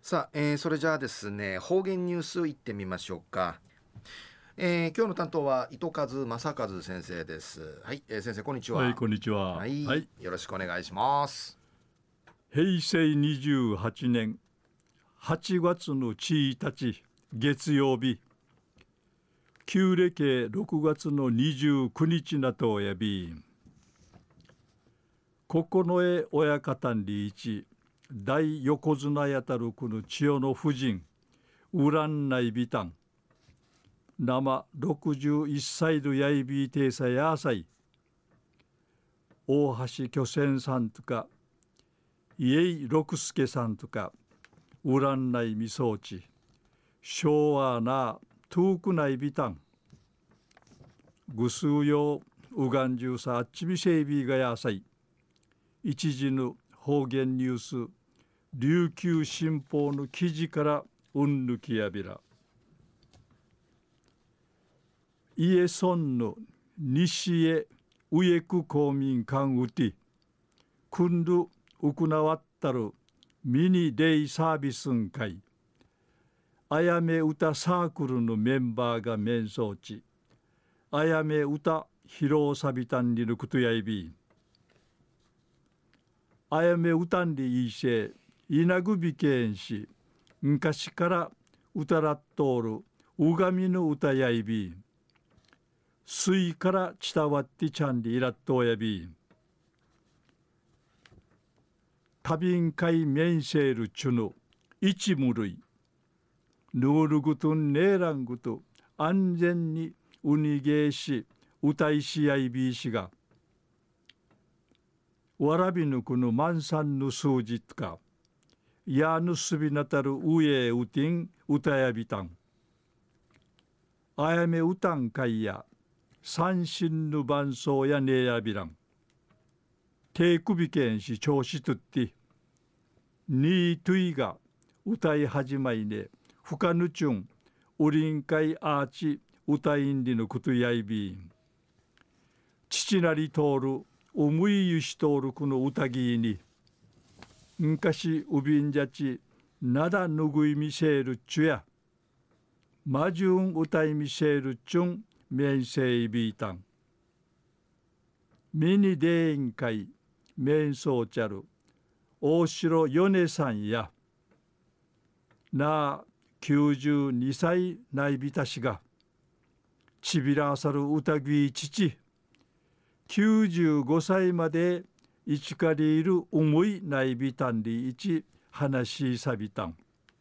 さあ、それじゃあですね、方言ニュースいってみましょうか。今日の担当は糸数正和先生です。はい、先生こんにちはい、 は。 こんにちは。 はい、 はい、 よろしくお願いします。 平成28年8月の1日月曜日、旧暦6月の29日なとおやび、九重親方にリーチ、大横綱やたるくの千代の夫人、ウランナイビタン、生61歳のやいびていさやさい、大橋巨泉さんとか、家井六助さんとか、ウランナイみそうち、昭和な遠くないビタン、ぐすうようがんじゅうさあっちみせいびがやさい、一時の方言ニュース、琉球新報の記事からうんぬきやびら。家村の西へ植区公民館うて、くんど行わったるミニデイサービスん会、あやめ歌サークルのメンバーが面相地、あやめ歌披露サビタンにぬくとやいび、あやめ歌んりいいせ、稲ぐびけんし、昔から歌らっとおる、うがみの歌やいび、水から伝わってちゃんりいらっとやび、多便会面せるちゅぬ、一無類、ヌールグトンネーラングト安全にうにげーし歌いしやいびいしがわらびぬくの満山の数字とかやぬすびなたるうえうてん歌やびたんあやめうたんかいや三心の伴奏やねやびらん手首けんし調子とってにいといが歌い始まいねふかぬちゅんウリンカイアーチ歌いんりのことやいびん父なり通る思いゆし通るこの歌ぎに昔うびんじゃちなだぬぐいみせるっちゅやまじゅん歌いみせるっちゅんめんせいびいたんミニデーン会めんそうちゃる大城米さんやなあ92歳ないびたしがちびらさる歌ぎ父95歳までいちかりいる思いないびたんりいち話しさびたん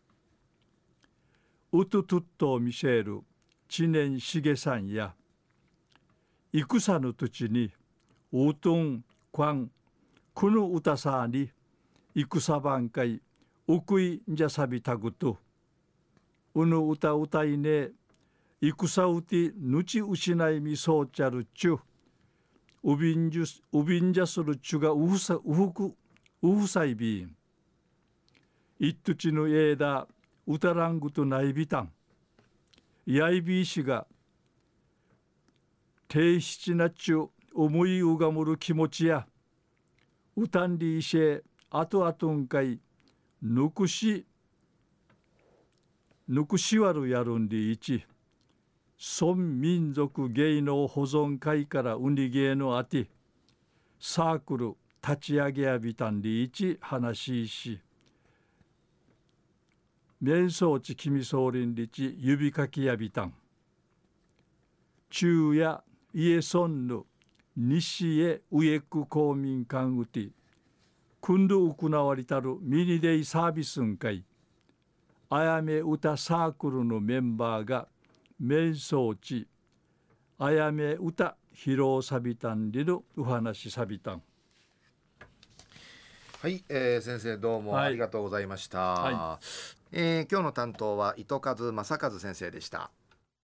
うととっと見せる知念しげさんや戦の土地にうとんこんこの歌さに戦番会うくいんじゃさびたぐとうぬ歌歌いね戦うてぬち失いみそうちゃるっちゅうびんじゃするっちゅがうふさいびんいっとちのえだうたらんぐとないびたんやいびいしがていしちなっちゅ思いうがむる気持ちやうたんりいしえあとあとんかいぬくしわるやるんりいち村民族芸能保存会からうにげのあてサークル立ち上げやびたんりいち話し面相地君総林りち指かきやびたん中や家村の西へ植区公民館うてくんど行われたるミニデイサービスんかいあやめ歌サークルのメンバーが面相地あやめ歌披露さびたんりのお話さびたんはい、先生どうもありはいがとうございましはいた。今日の担当は糸数正和先生でした。